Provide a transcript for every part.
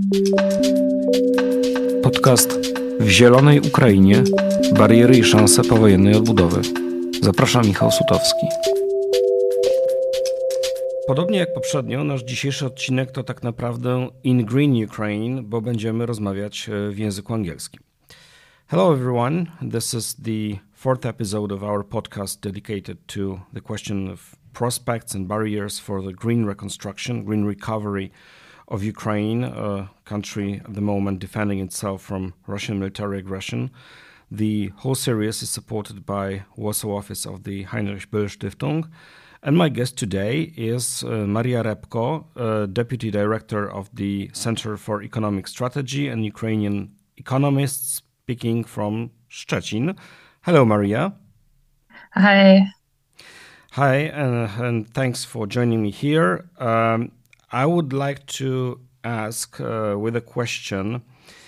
Podcast W zielonej Ukrainie. Bariery i szanse powojennej odbudowy. Zapraszam, Michał Sutowski. Podobnie jak poprzednio, nasz dzisiejszy odcinek to tak naprawdę In Green Ukraine, bo będziemy rozmawiać w języku angielskim. Hello everyone, this is the fourth episode of our podcast dedicated to the question of prospects and barriers for the green reconstruction, green recovery of Ukraine, a country at the moment defending itself from Russian military aggression. The whole series is supported by Warsaw office of the Heinrich Böll Stiftung. And my guest today is Maria Repko, Deputy Director of the Center for Economic Strategy and Ukrainian economist, speaking from Szczecin. Hello, Maria. Hi. Hi, and thanks for joining me here. I would like to ask with a question,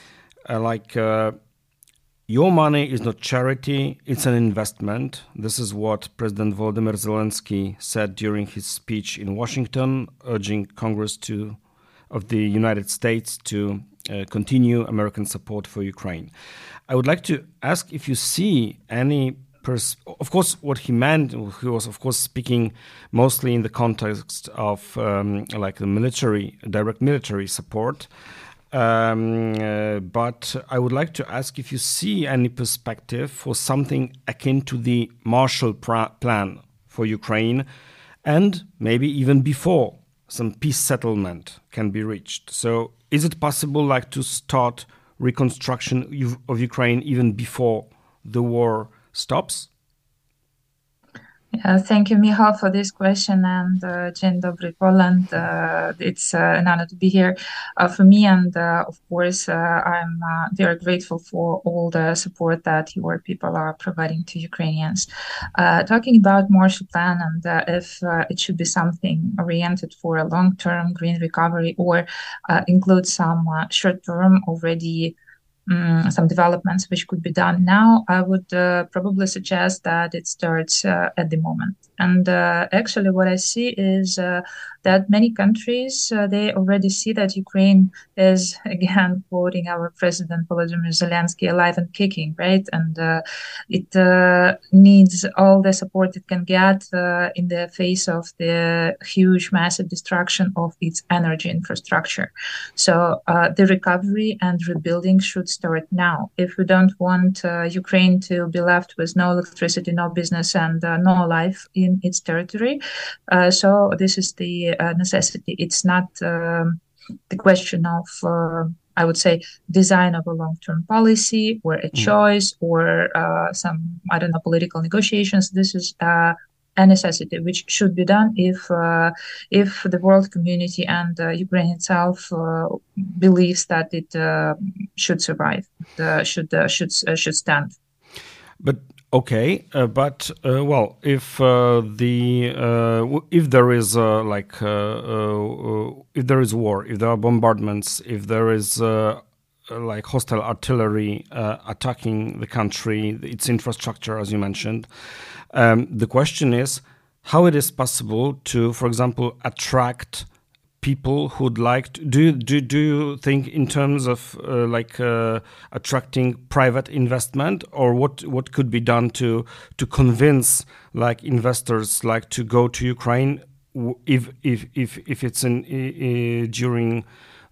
your money is not charity, it's an investment. This is what President Volodymyr Zelensky said during his speech in Washington, urging Congress of the United States to continue American support for Ukraine. I would like to ask if you see any of course, what he meant, he was, of course, speaking mostly in the context of the direct military support. But I would like to ask if you see any perspective for something akin to the Marshall Plan for Ukraine, and maybe even before some peace settlement can be reached. So is it possible to start reconstruction of Ukraine even before the war stops? Yeah, thank you, Michał, for this question, and Dzień dobry, Poland. It's an honor to be here for me, and of course, I'm very grateful for all the support that your people are providing to Ukrainians. Talking about Marshall Plan and if it should be something oriented for a long-term green recovery or include some short-term already some developments which could be done now, I would probably suggest that it starts at the moment. And actually what I see is that many countries, they already see that Ukraine is, again, quoting our President Volodymyr Zelensky, alive and kicking, right? And it needs all the support it can get in the face of the huge, massive destruction of its energy infrastructure. So the recovery and rebuilding should start now. If we don't want Ukraine to be left with no electricity, no business, and no life in its territory, so this is the necessity. It's not the question of, I would say, design of a long-term policy or a choice or some, political negotiations. This is a necessity which should be done if the world community and Ukraine itself believes that it should survive, should stand. But okay, if there is if there is war, if there are bombardments, if there is hostile artillery attacking the country, its infrastructure, as you mentioned, the question is how it is possible to, for example, attract people who'd like to, do you think in terms of attracting private investment, or what could be done to convince investors to go to Ukraine if it's during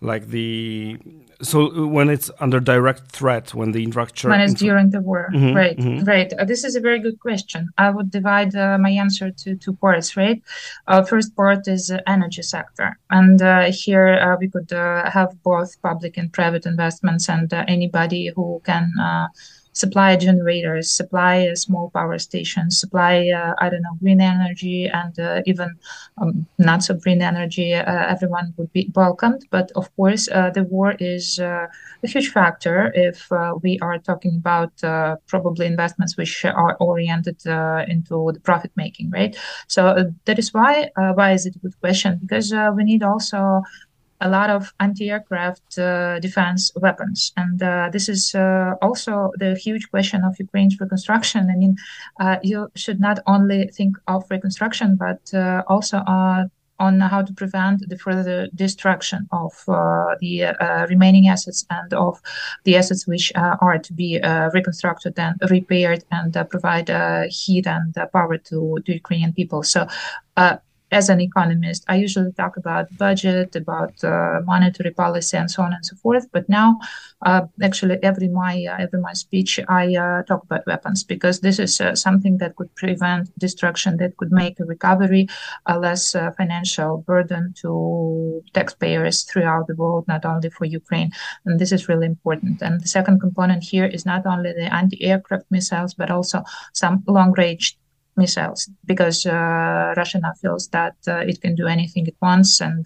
when it's under direct threat, when it's during the war, right. This is a very good question. I would divide my answer to two parts, right? First part is energy sector, and here we could have both public and private investments, and anybody who can supply generators, supply small power stations, supply, green energy, and even not so green energy, everyone would be welcomed. But of course, the war is a huge factor if we are talking about probably investments which are oriented into the profit making, right? So that is why is it a good question? Because we need also a lot of anti-aircraft defense weapons. And this is also the huge question of Ukraine's reconstruction. I mean, you should not only think of reconstruction, but also on how to prevent the further destruction of the remaining assets and of the assets which are to be reconstructed and repaired and provide heat and power to Ukrainian people. So as an economist, I usually talk about budget, about monetary policy, and so on and so forth. But now, actually, every my speech, I talk about weapons, because this is something that could prevent destruction, that could make a recovery a less financial burden to taxpayers throughout the world, not only for Ukraine. And this is really important. And the second component here is not only the anti-aircraft missiles, but also some long-range missiles, because Russia now feels that it can do anything it wants, and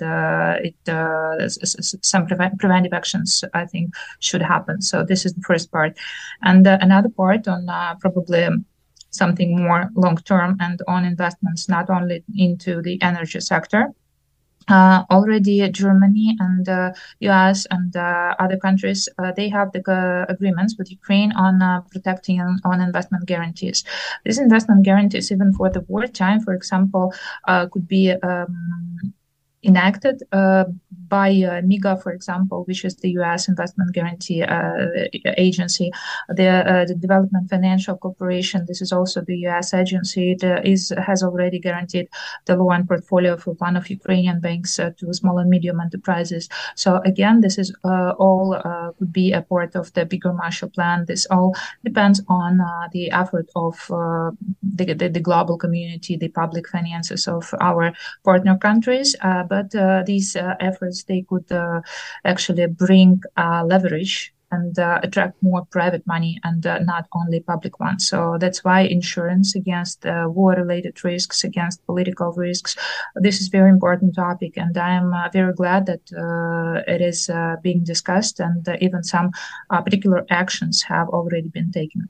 some preventive actions, I think, should happen. So this is the first part. And another part on probably something more long-term and on investments, not only into the energy sector. Already Germany and US and other countries, they have the agreements with Ukraine on protecting on investment guarantees. These investment guarantees, even for the wartime, for example, could be enacted by MIGA, for example, which is the U.S. Investment Guarantee Agency, the Development Financial Corporation. This is also the U.S. agency. It has already guaranteed the loan portfolio for one of Ukrainian banks to small and medium enterprises. So again, this is all could be a part of the bigger Marshall Plan. This all depends on the effort of the global community, the public finances of our partner countries. But these efforts, they could actually bring leverage and attract more private money and not only public ones. So that's why insurance against war-related risks, against political risks, this is a very important topic. And I am very glad that it is being discussed, and even some particular actions have already been taken.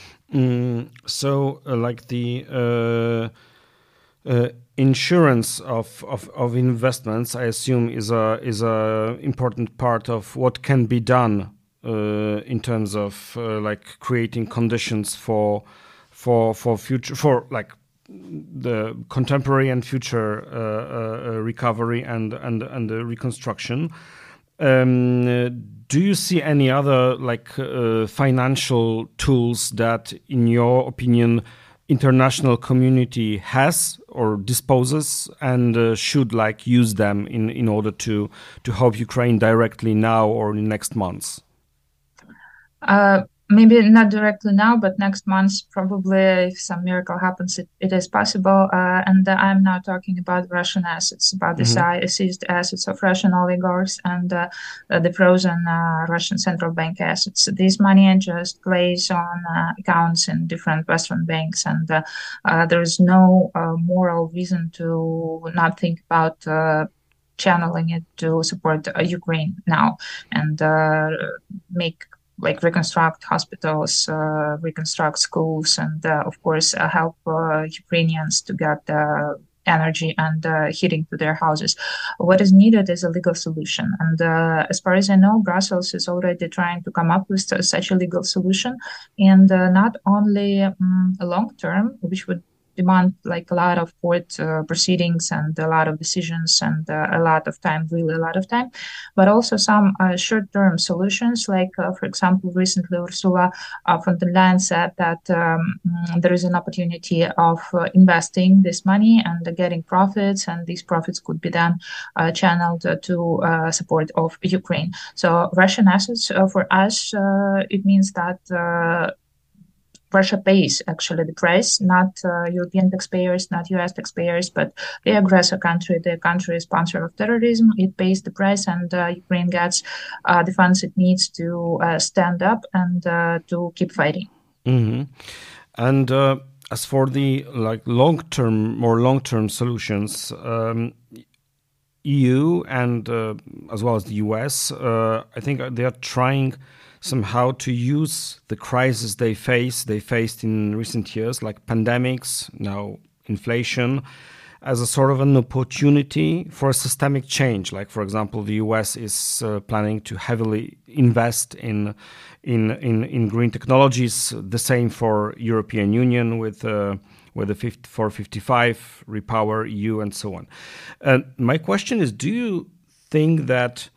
So like the insurance of investments, I assume, is a important part of what can be done in terms of like creating conditions for future, for like the contemporary and future recovery and the reconstruction. Do you see any other like financial tools that, in your opinion, international community has or disposes, and should like use them in order to help Ukraine directly now or in next months? Maybe not directly now, but next month, probably, if some miracle happens, it is possible. And I'm now talking about Russian assets, about the seized assets of Russian oligarchs and the frozen Russian central bank assets. This money just plays on accounts in different Western banks, and there is no moral reason to not think about channeling it to support Ukraine now and reconstruct hospitals, reconstruct schools, and of course help Ukrainians to get energy and heating to their houses. What is needed is a legal solution. And as far as I know, Brussels is already trying to come up with such a legal solution. And not only a long term, which would demand like a lot of court proceedings and a lot of decisions and a lot of time, really a lot of time, but also some short-term solutions. Like, for example, recently Ursula von der Leyen said that there is an opportunity of investing this money and getting profits, and these profits could be then channeled to support of Ukraine. So Russian assets for us, it means that Russia pays actually the price, not European taxpayers, not US taxpayers, but the aggressor country, the country sponsor of terrorism. It pays the price, and Ukraine gets the funds it needs to stand up and to keep fighting. Mm-hmm. And as for the like more long-term solutions, EU and as well as the US, I think they are trying somehow to use the crisis they faced in recent years, like pandemics, now inflation, as a sort of an opportunity for a systemic change. Like, for example, the US is planning to heavily invest in green technologies. The same for European Union with with the 455, Repower EU, and so on. My question is, do you think that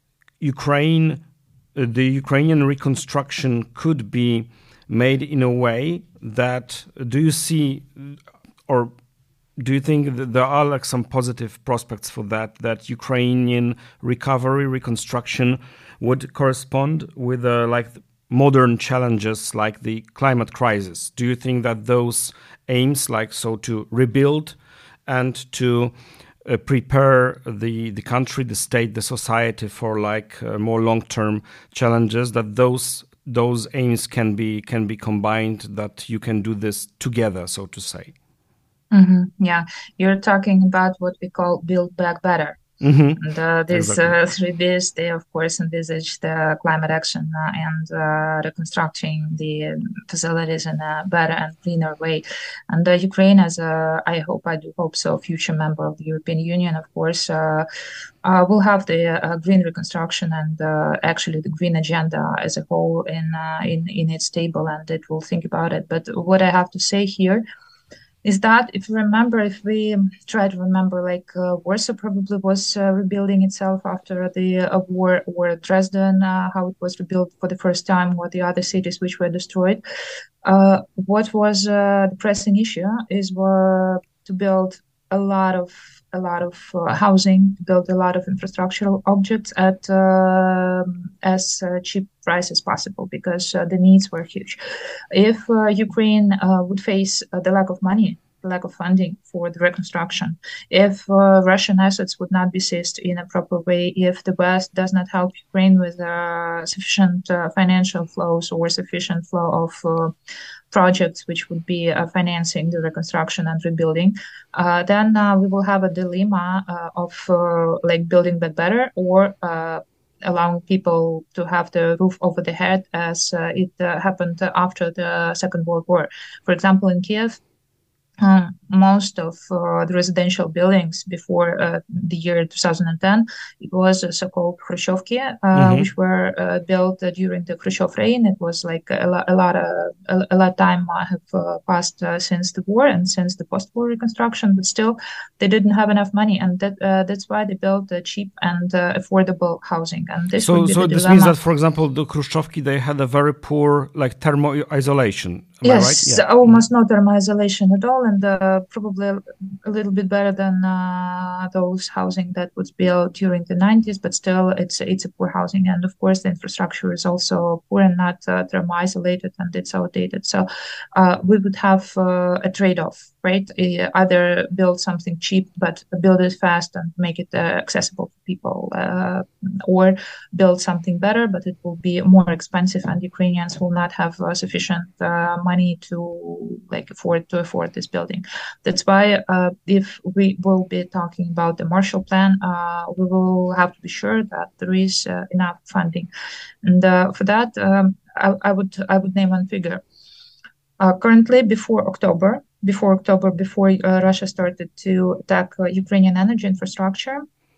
the Ukrainian reconstruction could be made in a way that, do you see, or do you think that there are like some positive prospects for that Ukrainian recovery, reconstruction would correspond with like modern challenges like the climate crisis? Do you think that those aims, like so to rebuild and to prepare the country, the state, the society for like more long-term challenges, that those aims can be combined, that you can do this together, so to say? Yeah, you're talking about what we call Build Back Better. And these Exactly. 3Bs, they of course envisage the climate action and reconstructing the facilities in a better and cleaner way. And Ukraine, as I do hope so, future member of the European Union, of course, will have the green reconstruction and actually the green agenda as a whole in its table, and it will think about it. But what I have to say here is that if we try to remember, like Warsaw probably was rebuilding itself after the war, or Dresden, how it was rebuilt for the first time, or the other cities which were destroyed. What was the pressing issue is to build a lot of housing, build a lot of infrastructural objects at as cheap price as possible, because the needs were huge. If Ukraine would face the lack of money, the lack of funding for the reconstruction, if Russian assets would not be seized in a proper way, if the West does not help Ukraine with sufficient financial flows or sufficient flow of projects which would be financing the reconstruction and rebuilding, then we will have a dilemma of like building back better, or allowing people to have the roof over their head, as it happened after the Second World War. For example, in Kiev, most of the residential buildings before the year 2010, it was so-called Khrushchevki, which were built during the Khrushchev reign. It was like a lot of time have passed since the war and since the post-war reconstruction, but still they didn't have enough money, and that's why they built cheap and affordable housing. And this would be the this dilemma. means that, for example, the Khrushchevki, they had a very poor like thermal isolation. Am I right? Yes, almost no thermal isolation at all, and probably a little bit better than those housing that was built during the 90s, but still it's a poor housing. And of course, the infrastructure is also poor and not thermal isolated, and it's outdated. So we would have a trade-off, right? Either build something cheap, but build it fast and make it accessible to people, or build something better, but it will be more expensive, and Ukrainians will not have sufficient money to afford this building. That's why if we will be talking about the Marshall Plan, we will have to be sure that there is enough funding. And for that, I would name one figure. Currently, before October, Russia started to attack Ukrainian energy infrastructure,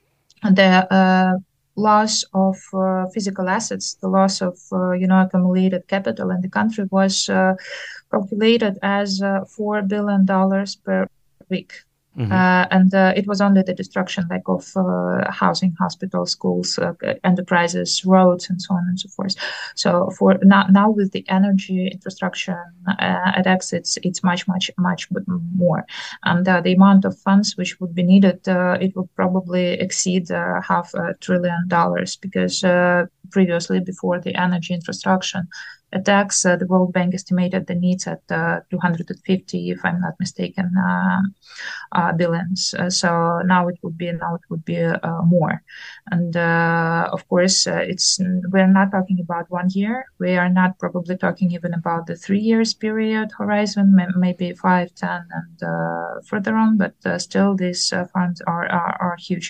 the loss of physical assets, the loss of accumulated capital in the country was calculated as $4 billion per week. And it was only the destruction of housing, hospitals, schools, enterprises, roads, and so on and so forth. So for now with the energy infrastructure attacks, it's much more. And the amount of funds which would be needed, it would probably exceed $500 billion, because previously, before the energy infrastructure attacks, the World Bank estimated the needs at 250, if I'm not mistaken, billions. So now it would be more. And of course, we're not talking about 1 year. We are not probably talking even about the 3 years period horizon, maybe 5, 10, and further on. But still, these funds are huge.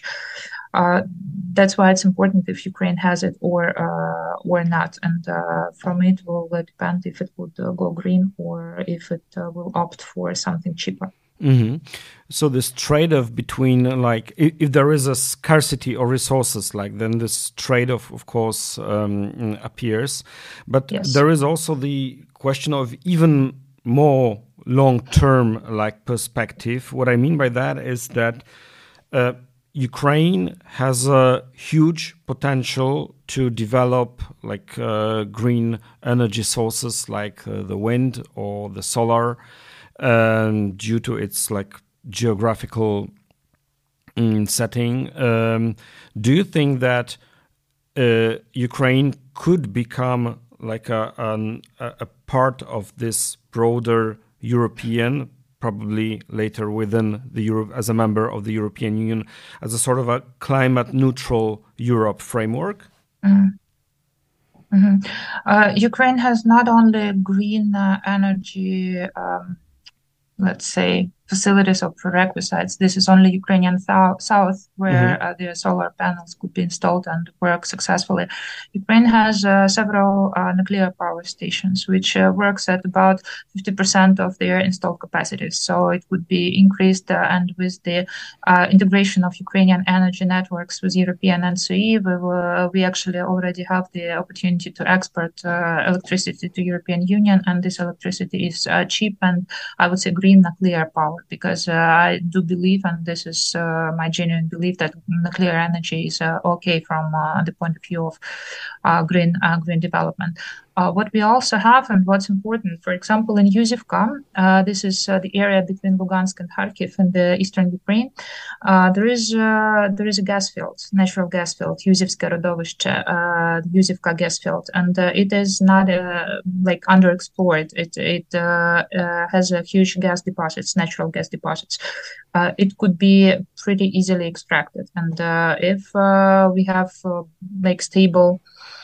That's why it's important if Ukraine has it or not, and from it will depend if it would go green or if it will opt for something cheaper. So this trade-off between, like, if there is a scarcity of resources, like, then this trade-off, of course, appears. But yes, there is also the question of even more long-term like perspective. What I mean by that is that Ukraine has a huge potential to develop like green energy sources like the wind or the solar due to its like geographical setting. Do you think that Ukraine could become like a part of this broader European, probably later within the Europe as a member of the European Union, as a sort of a climate neutral Europe framework? Ukraine has not only green energy, let's say, facilities or prerequisites. This is only Ukrainian south where the solar panels could be installed and work successfully. Ukraine has several nuclear power stations, which works at about 50% of their installed capacities. So it would be increased, and with the integration of Ukrainian energy networks with European NCE, we actually already have the opportunity to export electricity to European Union, and this electricity is cheap and I would say green nuclear power. Because I do believe, and this is my genuine belief, that nuclear energy is okay from the point of view of green development. What we also have, and what's important, for example, in Yuzivka, this is the area between Lugansk and Kharkiv in the eastern Ukraine. There is a gas field, natural gas field, Yuzivska Rodovishche, Yuzivka gas field, and it is not like underexplored. It has a huge gas deposits, natural gas deposits. It could be pretty easily extracted, and if we have like stable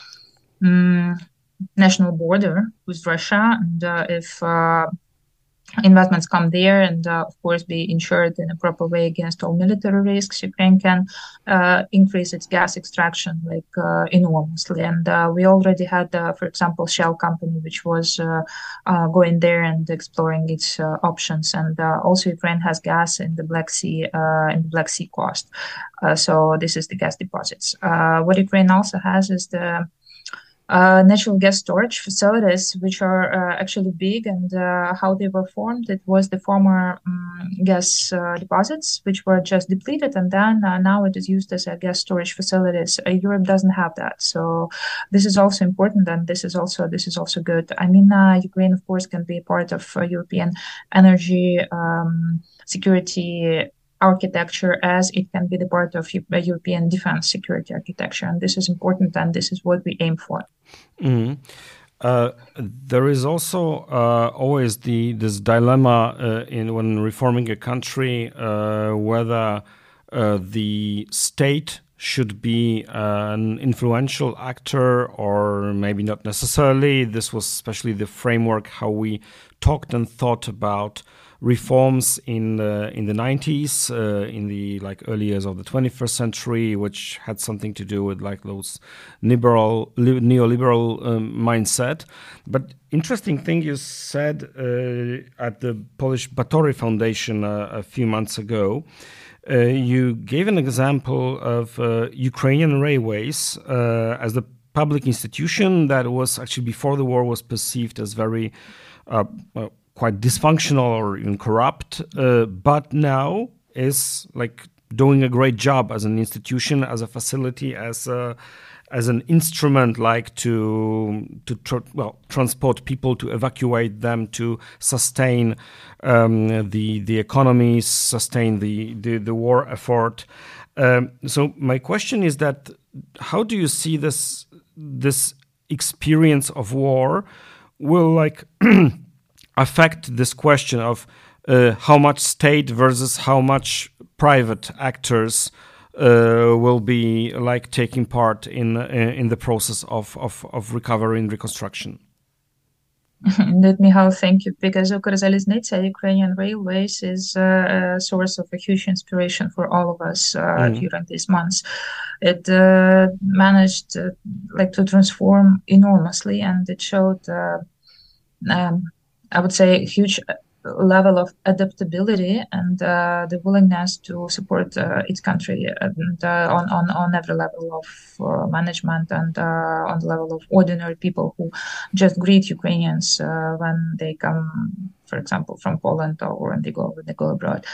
national border with Russia, and if investments come there and of course be insured in a proper way against all military risks, Ukraine can increase its gas extraction like enormously. And we already had, for example, Shell company, which was going there and exploring its options. And also Ukraine has gas in the Black Sea, coast. So this is the gas deposits. What Ukraine also has is the natural gas storage facilities, which are actually big, and how they were formed. It was the former gas deposits, which were just depleted, and then now it is used as a gas storage facilities. Europe doesn't have that, so this is also important, and this is also good. I mean, Ukraine, of course, can be part of European energy security architecture, as it can be the part of European defense security architecture, and this is important, and this is what we aim for. Mm-hmm. There is also always this dilemma when reforming a country, whether the state should be an influential actor or maybe not necessarily. This was especially the framework how we talked and thought about reforms in the 90s, in the like early years of the 21st century, which had something to do with like those neoliberal mindset. But interesting thing you said at the Polish Batory Foundation a few months ago. You gave an example of Ukrainian Railways as the public institution that was actually before the war was perceived as very quite dysfunctional or even corrupt, but now is like doing a great job as an institution, as a facility, as an instrument, like to transport people, to evacuate them, to sustain the economy, sustain the war effort. So my question is that how do you see this experience of war will like affect this question of how much state versus how much private actors will be like taking part in the process of recovery and reconstruction? Let me thank you, because Ukrzaliznytsia, Ukrainian Railways, is a source of a huge inspiration for all of us during these months. It managed to transform enormously, and it showed I would say a huge level of adaptability and the willingness to support its country and, on every level of management and on the level of ordinary people who just greet Ukrainians when they come for example, from Poland or when they go abroad.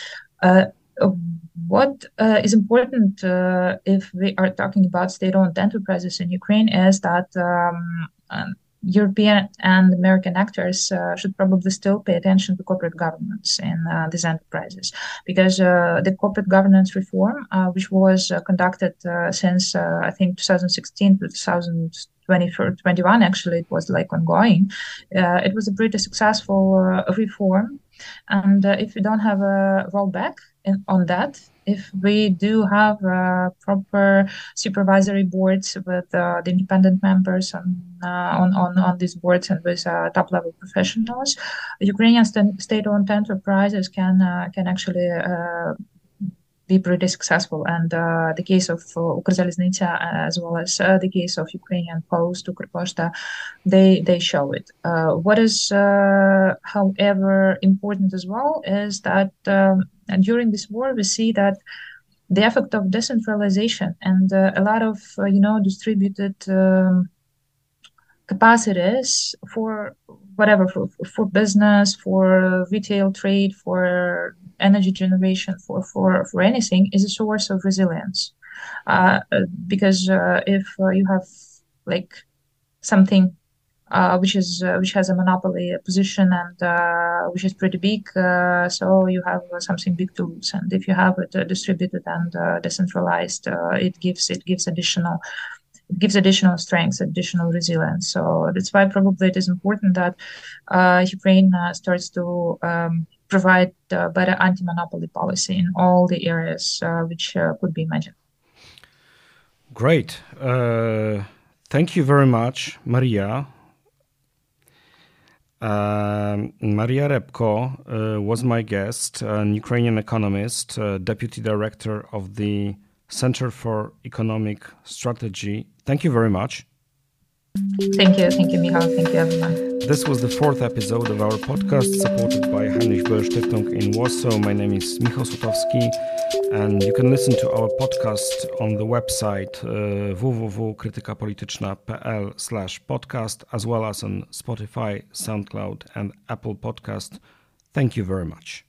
What is important if we are talking about state-owned enterprises in Ukraine is that European and American actors should probably still pay attention to corporate governance in these enterprises, because the corporate governance reform, which was conducted since I think 2016 to 2021, actually it was like ongoing. It was a pretty successful reform, and if we don't have a rollback on that, if we do have proper supervisory boards with the independent members on these boards and with top-level professionals, Ukrainian state-owned enterprises can actually be pretty successful. And the case of Ukrzaliznytsia, as well as the case of Ukrainian Post, Ukrposhta, they show it. What is, however, important as well is that and during this war, we see that the effect of decentralization and a lot of, distributed capacities for whatever, for business, for retail trade, for energy generation, for anything, is a source of resilience. Because if you have like something which has a monopoly position and which is pretty big, so you have something big to lose. And if you have it distributed and decentralized, it gives additional strength, additional resilience. So that's why probably it is important that Ukraine starts to provide better anti-monopoly policy in all the areas which could be imagined. Great. Thank you very much, Maria. Maria Repko was my guest, an Ukrainian economist, deputy director of the Center for Economic Strategy. Thank you very much. Thank you, Michał. Thank you, everyone. This was the 4th episode of our podcast, supported by Heinrich Böll Stiftung in Warsaw. My name is Michał Sutowski, and you can listen to our podcast on the website www.krytykapolityczna.pl/podcast, as well as on Spotify, SoundCloud, and Apple Podcast. Thank you very much.